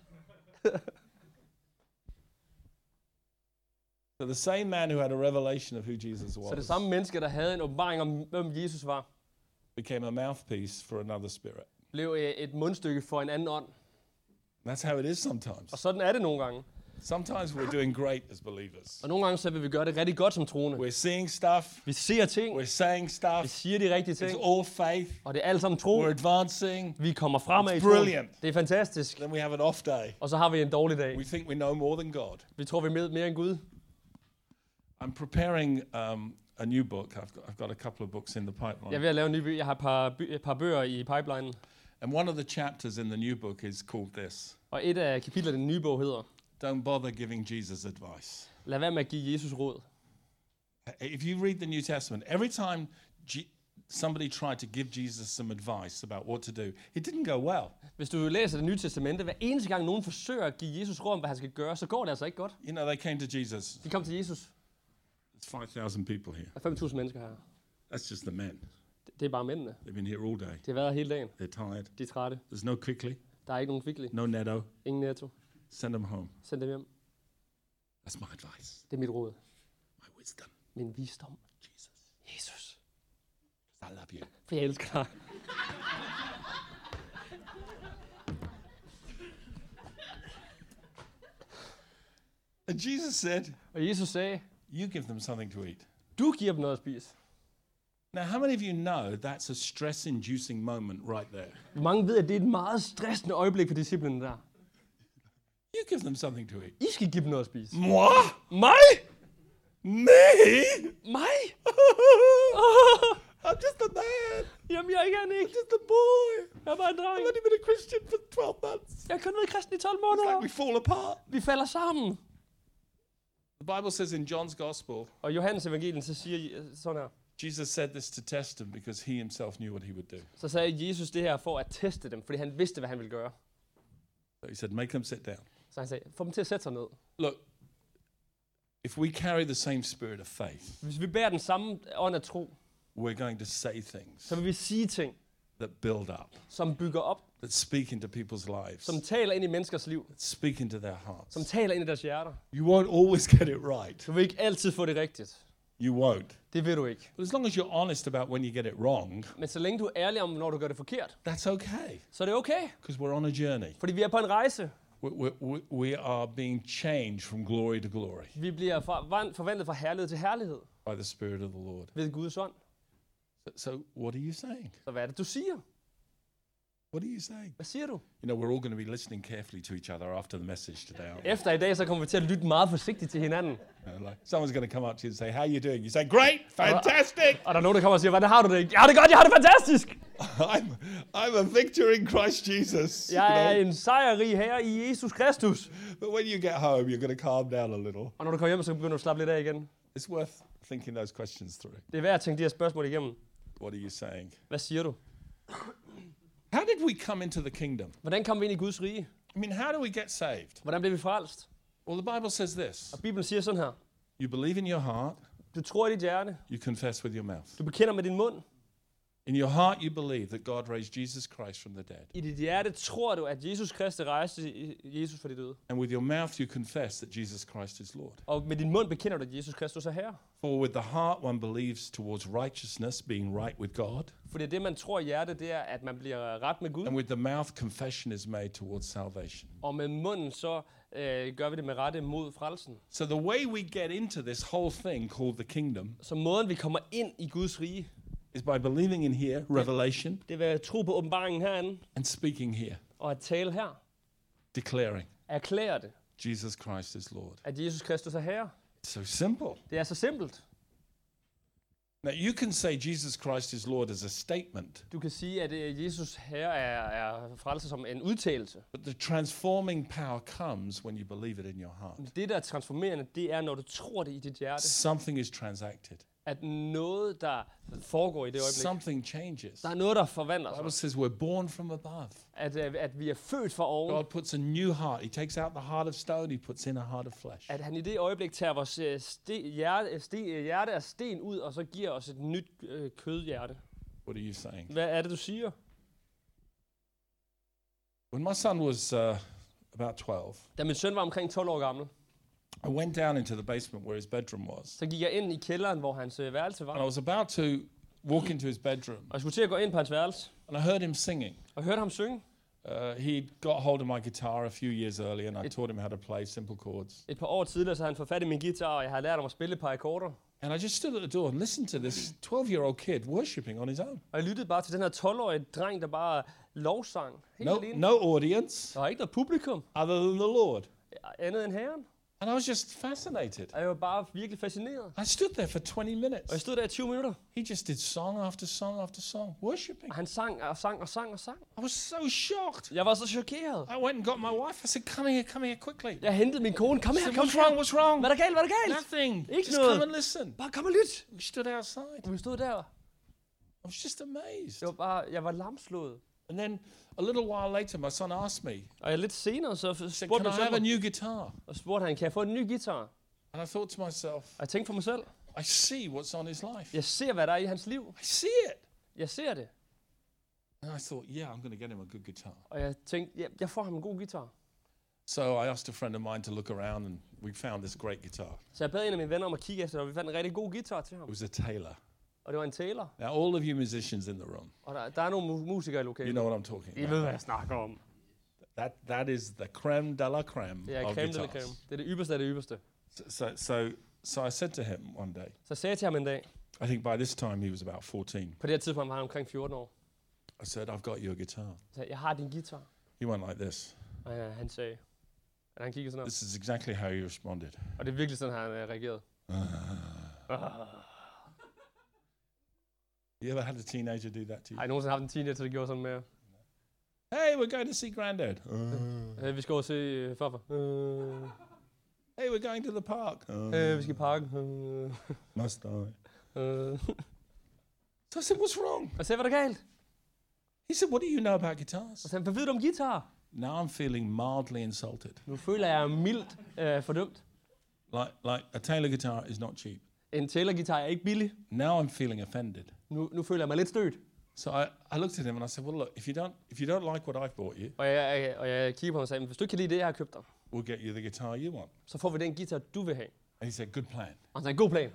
So the same man who had a revelation of who Jesus Så det was samme menneske, der havde en åbenbaring om, hvem Jesus var, became a mouthpiece for another spirit. blev et mundstykke for en anden ånd. That's how it is sometimes. Og sådan er det nogle gange. Sometimes we're doing great as believers. Og nogle gange så vil vi gøre det rigtig godt som troende. We're seeing stuff, Vi ser ting, we're saying vi stuff, siger de rigtige ting, it's all faith, og det er alt sammen tro. we're advancing, Vi kommer fremad i It's troen. brilliant. Det er fantastisk. then we have an off day. Og så har vi en dårlig dag. We think we know more than God. Vi tror, vi er mere end Gud. I'm preparing a new book. I've got a couple of books in the Jeg er pipeline. ved at lave en ny bøger. Jeg har et par bøger i pipelinen. And one of the chapters in the new book is called this: Og et af kapitlerne i den nye bog hedder, Don't bother giving Jesus advice. lad være med at give Jesus råd. If you read the New Testament, every time somebody tried to give Jesus some advice about what to do, it didn't go well. Hvis du læser det nye testamente, hver eneste gang nogen forsøger at give Jesus råd om, hvad han skal gøre, så går det altså ikke godt. You know, they came to Jesus. De kom til Jesus. There's 5,000 people here. Der er 5.000 mennesker her. That's just the men. Det er bare mændene. They've been here all day. De har været her hele dagen. They're tired. De er trætte. There's no quickly, Der er ikke nogen kvickly. no netto. Ingen netto. Send them home. Send dem hjem. That's my advice. Det er mit råd. My wisdom. Min visdom. Jesus. Jesus. I love you. For jeg elsker dig. And Jesus said, Og Jesus sagde, you give them something to eat. du giver dem noget at spise. Now, how many of you know that's a stress-inducing moment right there? Mange ved, at det er et meget stressende øjeblik for disciplene der. You give them something to eat. I skal give dem noget at spise. Moi? Mig? Me? Mig? I'm just a man. Jamen, jeg er ikke en ikke. Just a boy. Jeg er bare en dreng. I've only been a Christian for 12 months. Jeg har kun været kristen i 12 It's måneder. like we fall apart. Vi falder sammen. The Bible says in John's Gospel, Og Johannes evangelien så siger sådan her. Jesus said this to test them because he himself knew what he would do. Så sagde Jesus det her for at teste dem, fordi han vidste, hvad han ville gøre. So he said, make them sit down. Så han sagde, få dem til at sætte sig ned. Look, if we carry the same spirit of faith, Hvis vi bærer den samme ånd af tro, we're going to say things så vil vi sige ting, that build up, som bygger op, that speak into people's lives, som taler ind i menneskers liv, that speak into their hearts. som taler ind i deres hjerter. You won't always get it right. Du vil ikke altid få det rigtigt. You won't. Det vil du ikke. But as long as you're honest about when you get it wrong, Men så længe du er ærlig om, når du gør det forkert, that's okay, så er det okay. because we're on a journey. Fordi vi er på en rejse. We are being changed from glory to glory Vi bliver forvandlet fra herlighed til herlighed by the Spirit of the Lord. ved Guds ånd. So what are you saying? Så hvad er det, du siger? What are you saying? Hvad siger du? You know, we're all going to be listening carefully to each other after the message today, aren't we? Efter i dag, så kommer vi til at lytte meget forsigtigt til hinanden. Like someone's going to come up to you and say, how are you doing? You say, great, fantastic. Og der er nogen, der kommer og siger, hvordan har du det? Jeg har det godt, jeg har det fantastisk! I'm a victor in Christ Jesus. Jeg er en sejrrig herre i Jesus Kristus. But when you get home, you're going to calm down a little. Og når du kommer hjem, så begynder du at slappe lidt af igen. It's worth thinking those questions through. Det er værd at tænke de her spørgsmål igennem. What are you saying? Hvad siger du? How did we come into the kingdom? Hvordan kom vi ind i Guds rige? I mean, how do we get saved? Hvordan blev vi frelst? Well, the Bible says this. Og Bibelen siger sådan her. You believe in your heart, Du tror i dit hjerte. you confess with your mouth. Du bekender med din mund. In your heart, you believe that God raised Jesus Christ from the dead. I dit hjerte tror du, at Jesus Kristus rejste Jesus fra de døde. And with your mouth, you confess that Jesus Christ is Lord. Og med din mund bekender du, at Jesus Kristus er herre. For with the heart, one believes towards righteousness, being right with God. Fordi det, man tror i hjertet, det er, at man bliver ret med Gud. And with the mouth, confession is made towards salvation. Og med munden, så gør vi det med rette mod frelsen. So the way we get into this whole thing called the kingdom Så måden, vi kommer ind i Guds rige, is by believing in here, revelation, det vil at tro på åbenbaringen herinde, and speaking here, og at tale her. declaring Erklære det, Jesus Christ is Lord. at Jesus Kristus er herre. It's so simple. Det er så simpelt. Now, you can say Jesus Christ is Lord as a statement, Du kan sige, at Jesus herre er frelser som en udtalelse. but the transforming power comes when you believe it in your heart. Men det, der er transformerende, det er, når du tror det i dit hjerte. Something is transacted. At noget, der foregår i det øjeblik. Something changes. Der er noget, der The forvandler Bible sig. says we're born from above. At vi er født fra oven. God puts a new heart. He takes out the heart of stone. He puts in a heart of flesh. At han i det øjeblik tager vores hjerte af sten ud, og så giver os et nyt kødhjerte. What are you saying? Hvad er det, du siger? When my son was about 12, Da min søn var omkring 12 år gammel, I went down into the basement where his bedroom was. så gik jeg ind i kælderen, hvor hans værelse And I var. was about to walk into his bedroom. Og jeg skulle til at gå ind på hans værelse, And I heard him singing. og hørte ham synge. He got hold of my guitar a few years earlier, and I taught him how to play simple chords. Et par år tidligere, så havde han fået fat i min guitar, og jeg havde lært ham at spille et par akkorder. And I just stood at the door and listened to this 12-year-old kid worshiping on his own. Og jeg lyttede bare til den her 12-årige dreng, der bare lovsang. Helt alene. No audience Der var ikke noget publikum, other than the Lord. andet end Herren. And I was just fascinated. Og jeg var bare virkelig fascineret. I stood there for 20 minutes. Og jeg stod der i 20 minutter, He just did song after song after song, worshiping. og han sang og sang og sang og sang. I was so shocked. Jeg var så chokeret. I went and got my wife. I said, come here quickly. Jeg hentede min kone. Kom I her, said, kom what's her. wrong, what's wrong? Hvad er der galt, hvad er der galt? Nothing. Ikke Just noget. come and listen. Bare kom og lyt. We stood outside. Og vi stod der. I was just amazed. Jeg var lamslået. And then a little while later, my son asked me, Og lidt senere så said, spurgte can min I have a søn mig, new guitar? og spurgte han, kan jeg få en ny guitar? And I thought to myself, Og jeg tænkte for mig selv, I see what's on his life. jeg ser, hvad der er i hans liv. I see it. Jeg ser det. And I thought, yeah, I'm going to get him a good guitar. Og jeg tænkte, ja, jeg får ham en god guitar. So I asked a friend of mine to look around, and we found this great guitar. Så jeg bad en af mine venner om at kigge efter, og vi fandt en rigtig god guitar til ham. It was a Taylor. Og det var en Taylor. Now, all of you musicians in the room, Og der er nogle musikere i you lokalet. know what I'm talking I ved, about. hvad jeg snakker om. That is the creme de la creme Det er of creme de la guitars. creme. Det er det ypperste af det ypperste. So I said to him one day, Så sagde jeg til ham en dag, I think by this time he was about 14. på det her tidspunkt var han omkring 14 år. I said, I've got you a guitar. Så sagde, jeg har din guitar. He went like this. Og han sagde, at han kiggede sådan op. This is exactly how he responded. Og det er virkelig sådan, han reagerede. You ever had a teenager do that to you? Har I nogensinde haft en teenager, der gjorde sådan med? Hey, we're going to see Granddad. Vi skal over se farfar. Hey, we're going to the park. Vi skal i parken. Must I? Og So I said, what's wrong? jeg sagde, hvad er der galt? He said, what do you know about guitars? Og så sagde, hvad ved du om guitar? Now I'm feeling mildly insulted. Nu føler jeg mildt fordømt. Like a Taylor guitar is not cheap. En Taylor-guitar er ikke billig. Now I'm feeling offended. Nu føler jeg mig lidt stødt. So I looked at him and I said, well, look, if you don't like what I've bought you, Og jeg kiggede på ham og sagde, hvis du ikke kan lide det, jeg har købt dig, we'll get you the guitar you want. så får vi den guitar, du vil have. And he said, good plan. Og han sagde, god plan.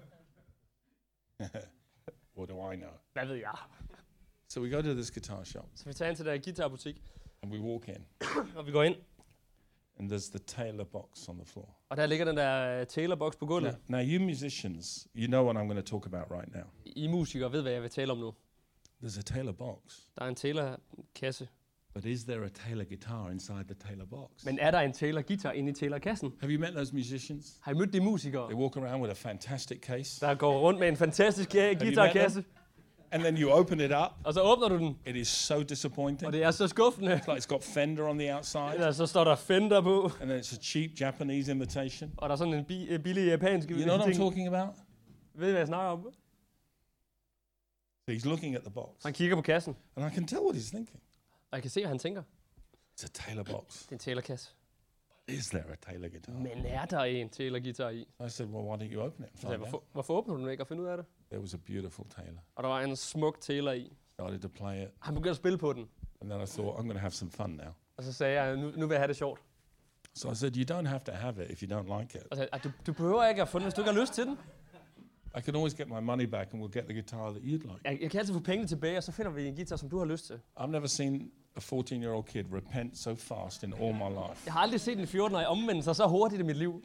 What do I know? Hvad ved jeg? So we go to this guitar shop Så vi tager ind til der guitarbutik, and we walk in og vi går ind. and there's the Taylor box on the floor. Og der ligger den der Taylor-box på gulvet. Now you musicians, you know what I'm going to talk about right now. I musikere ved, hvad jeg vil tale om nu. There's a Taylor box. Der er en Taylor-kasse. But is there a Taylor guitar inside the Taylor box? Men er der en Taylor-guitar inde i Taylor-kassen? Have you met those musicians? Har I mødt de musikere, They walk around with a fantastic case. der går rundt med en fantastisk guitarkasse? And then you open it up. Og så åbner du den, It is so disappointing. og det er så skuffende. It's like it's got Fender on the outside. Ja, så står der Fender på, And then it's a cheap Japanese imitation. og der er sådan en billig japansk You know what I'm ting. talking about? Ved I, hvad jeg snakker om? So he's looking at the box. Han kigger på kassen, And I can tell what he's thinking. og jeg kan se, hvad han tænker. It's a Taylor box. Det er en Taylor-kasse. Is there a Taylor guitar? Men er der en Taylor-guitar i? I said, well, why don't you open it and Så sagde jeg, find out? hvorfor åbner du den ikke og finder ud af det? There was a beautiful Taylor. Og der var en smuk Taylor i. Started to play it. Han begyndte at spille på den. And then I thought, I'm going to have some fun now. Og så sagde jeg, nu vil jeg have det sjovt. So I said, you don't have to have it if you don't like it. Og så sagde jeg, du behøver ikke at få den, hvis du ikke har lyst til den. I can always get my money back and we'll get the guitar that you'd like. Jeg kan altid få pengene tilbage, og så finder vi en guitar, som du har lyst til. I've never seen a 14-year-old kid repent so fast in all my life. Jeg har aldrig set en 14-årig omvende sig så hurtigt i mit liv.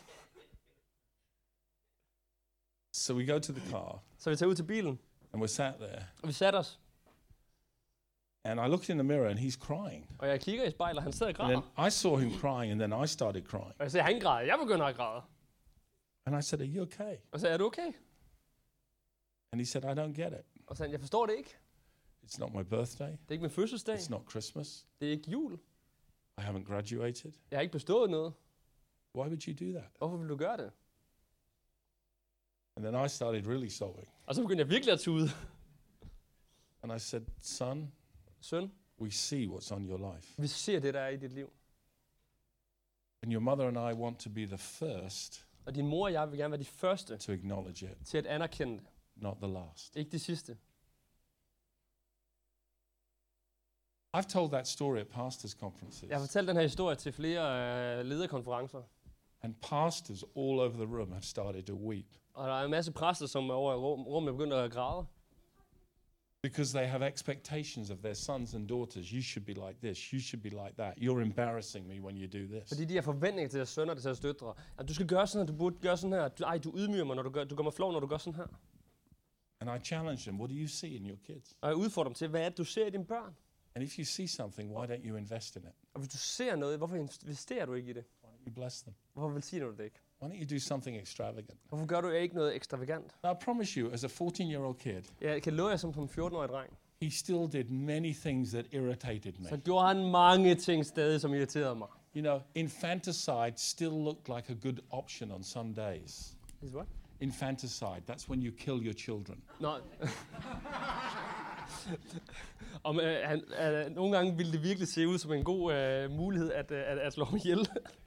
So we go to the car Så vi tager ud til bilen, and we're sat there. og vi satte os. And I looked in the mirror and he's crying. Og jeg kigger i spejlet, og han sidder og And græder. then I saw him crying and then I started crying. Og jeg siger, han græder. Jeg begynder at græde. And I said, are you okay? Og så sagde, er du okay? And he said, I don't get it. Og så sagde han, jeg forstår det ikke. It's not my birthday. Det er ikke min fødselsdag. It's not Christmas. Det er ikke jul. I haven't graduated. Jeg har ikke bestået noget. Why would you do that? Hvorfor vil du gøre det? And then I started really sobbing. Og så begyndte jeg virkelig at tude. And I said, son, Søn, we see what's on your life. vi ser det, der er i dit liv. And your mother and I want to be the first Og din mor og jeg vil gerne være de første to acknowledge it, til at anerkende det. not the last. Ikke de sidste. I've told that story at pastors' conferences. Jeg har fortalt den her historie til flere lederkonferencer. And pastors all over the room have started to weep Og der er en masse præster, som er over i rummet begynder at græde. because they have expectations of their sons and daughters. You should be like this. You should be like that. You're embarrassing me when you do this. Fordi de har forventninger til deres sønner og til deres døtre. At du skal gøre sådan her, du burde gøre sådan her. Du ydmyger mig, når du gør mig flov, når du gør sådan her. And I challenge them, what do you see in your kids? Og jeg udfordrer dem til, hvad er det, du ser i dine børn? And if you see something, why don't you invest in it? Og hvis du ser noget, hvorfor investerer du ikke i det? Why don't you bless them? Hvorfor velsigner du det ikke? Why don't you do something extravagant? Hvorfor gør du ikke noget ekstravagant? Now, I promise you, as a 14-year-old kid, Jeg kan love jer som en 14-årig dreng. he still did many things that irritated Så me. gjorde han mange ting stadig, som irriterede mig. You know, infanticide still looked like a good option on some days. Is what? Infanticide, that's when you kill your children. Nå. Nogle gange ville det virkelig se ud som en god mulighed at slå ham ihjel.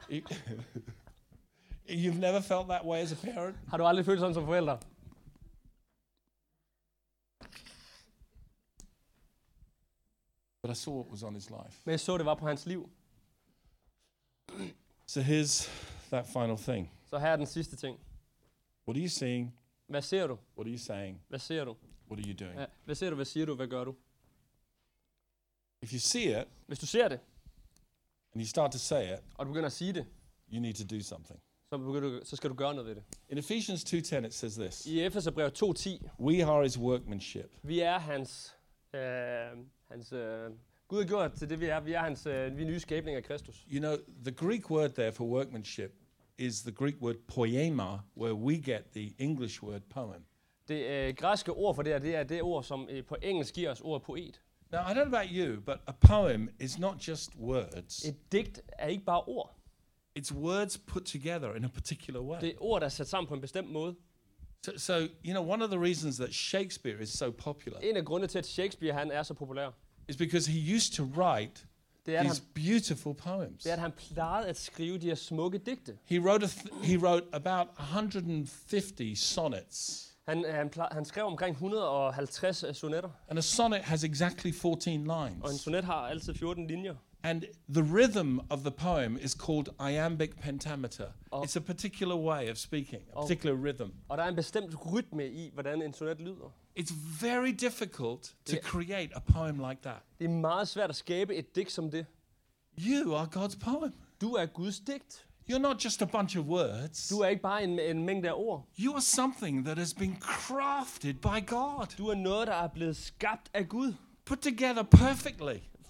You've never felt that way as a parent? Har du aldrig følt sådan som forælder? But I saw what was on his life. Men jeg så, det var på hans liv. So here's that final thing. Så her er den sidste ting. What are you seeing? Hvad ser du? What are you saying? Hvad ser du? What are you doing? Ja, hvad ser du? Hvad siger du? Hvad gør du? If you see it Hvis du ser det, and you start to say it, og du begynder at sige det, you need to do something. så skal du gøre noget ved det. In Ephesians 2:10 it says this. I Efeserbrevet 2:10, We are his workmanship. vi er Gud har gjort til det, vi er. Vi er vi er nye skabninger af Kristus. You know, the Greek word there for workmanship is the Greek word poema, where we get the English word poem. Det græske ord for det er det ord, som på engelsk giver os ordet poet. Now, I don't know about you, but a poem is not just words. Et digt er ikke bare ord. It's words put together in a particular way. Det er ord, der er sat sammen på en bestemt måde. So, you know, one of the reasons that Shakespeare is so popular En af grundene til, at Shakespeare han er så populær, is because he used to write det er, these beautiful poems. at han plejede at skrive de her smukke digte. He wrote about 150 sonnets. Han skrev omkring 150 sonetter, And a sonnet has exactly 14 og en lines. sonet har altid 14 linjer. And the rhythm of the poem is called iambic pentameter. Oh. It's a particular way of speaking, a Oh. particular rhythm. Og der er en bestemt rytme i, hvordan en sonet lyder. It's very difficult to Yeah. create a poem like that. Det er meget svært at skabe et digt som det. You are God's poem. Du er Guds digt. You're not just a bunch of words. Du er ikke bare en mængde af ord. You are something that has been crafted by God, Du er noget, der er blevet skabt af Gud. put together perfectly.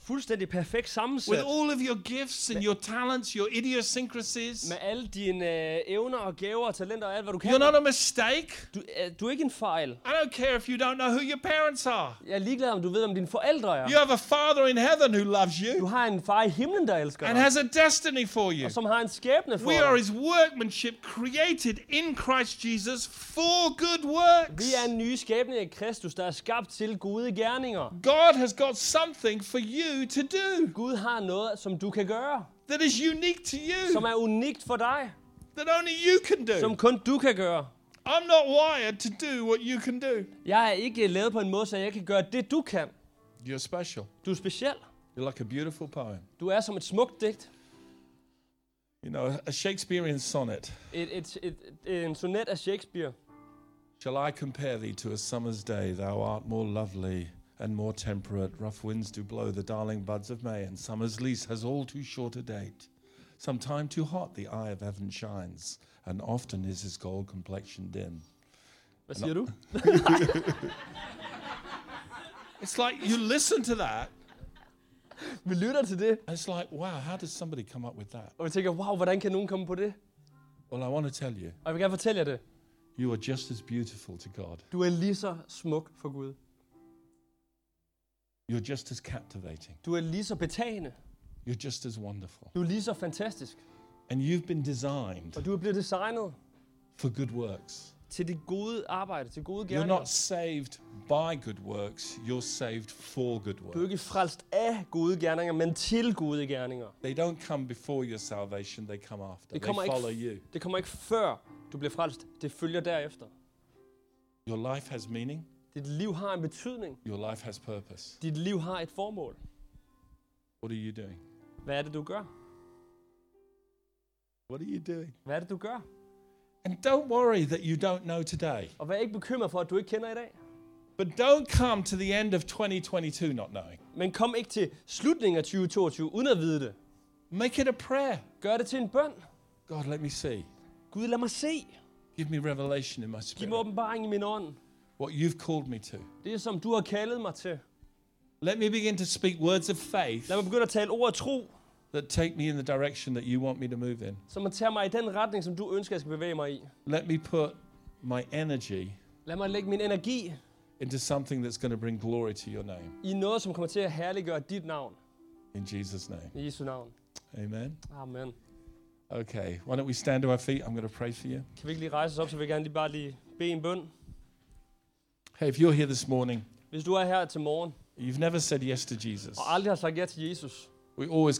fuldstændig perfekt sammensat. with all of your gifts and your talents, your idiosyncrasies. Med alle dine evner og gaver og talenter og alt, hvad du kan. You're not a mistake. Du er ikke en fejl. I don't care if you don't know who your parents are. Jeg er ligeglad, om du ved, om dine forældre er. You have a Father in heaven who loves Du you har en far i himlen, der elsker and dig. has a destiny for you. Og som har en skæbne for We are dig. his workmanship created in Christ Jesus for good works. Vi er en ny skæbne i Kristus, der er skabt til gode gerninger. God has got something for you to do Gud har noget, som du kan gøre. that is unique to Som you, er unikt for dig. that only you can Som do. kun du kan gøre. I'm not wired to do what you can do. Jeg er ikke lavet på en måde, så jeg kan gøre det, du kan. You're special. Du er speciel. You're like a beautiful poem. Du er som et smukt digt. You know, a Shakespearean sonnet. En sonet af Shakespeare. Shall I compare thee to a summer's day? Thou art more lovely and more temperate. Rough winds do blow the darling buds of May, and summer's lease has all too short a date. Sometime too hot the eye of heaven shines, and often is his gold complexion dim. Hvad siger du? It's like you listen to that, Vi lytter til det, and it's like, wow, how did somebody come up with that? og vi tænker, wow, hvordan kan nogen komme på det? Well, I want to tell you, Og jeg vil gerne fortælle jer det. you are just as beautiful to God. Du er lige så smuk for Gud. You're just as captivating. Du er lige så betagende. You're just as wonderful. Du er lige så fantastisk. And you've been designed Og du er blevet designet for good works. til det gode arbejde, til gode You're gerninger. not saved by good works, you're saved for good Du er works. ikke frelst af gode gerninger, men til gode gerninger. They don't come before your salvation, they come after. Det They kommer follow ikke, you. det kommer ikke før du bliver frelst. Det følger derefter. Your life has meaning, Dit liv har en betydning. your life has purpose. Dit liv har et formål. What are you doing? Hvad er det, du gør? What are you doing? Hvad er det, du gør? And don't worry that you don't know today. Og vær ikke bekymret for, at du ikke kender i dag. But don't come to the end of 2022 not knowing. Men kom ikke til slutningen af 2022 uden at vide det. Make it a prayer. Gør det til en bøn. God, let me see. Gud, lad mig se. Give me revelation in my Giv mig spirit. åbenbaring i min ånd. What you've called me to. Det er som du har kaldet mig til. Let me begin to speak words of faith Lad mig begynde at tale ord af tro, that take me in the direction that you want me to move in. som man tager mig i den retning, som du ønsker, jeg skal bevæge mig i. Let me put my energy Lad mig lægge min energi into something that's going to bring glory to your name. i noget, som kommer til at herliggøre dit navn. In Jesus' name. I Jesu navn. Amen. Amen. Okay, why don't we stand to our feet? I'm going to pray for you. Kan vi ikke lige rejse os op, så vil jeg gerne bare lige bede en bøn. Hey, if you're here this morning, Hvis du er her til morgen, you've never said yes to Jesus. og aldrig har sagt ja til Jesus, We always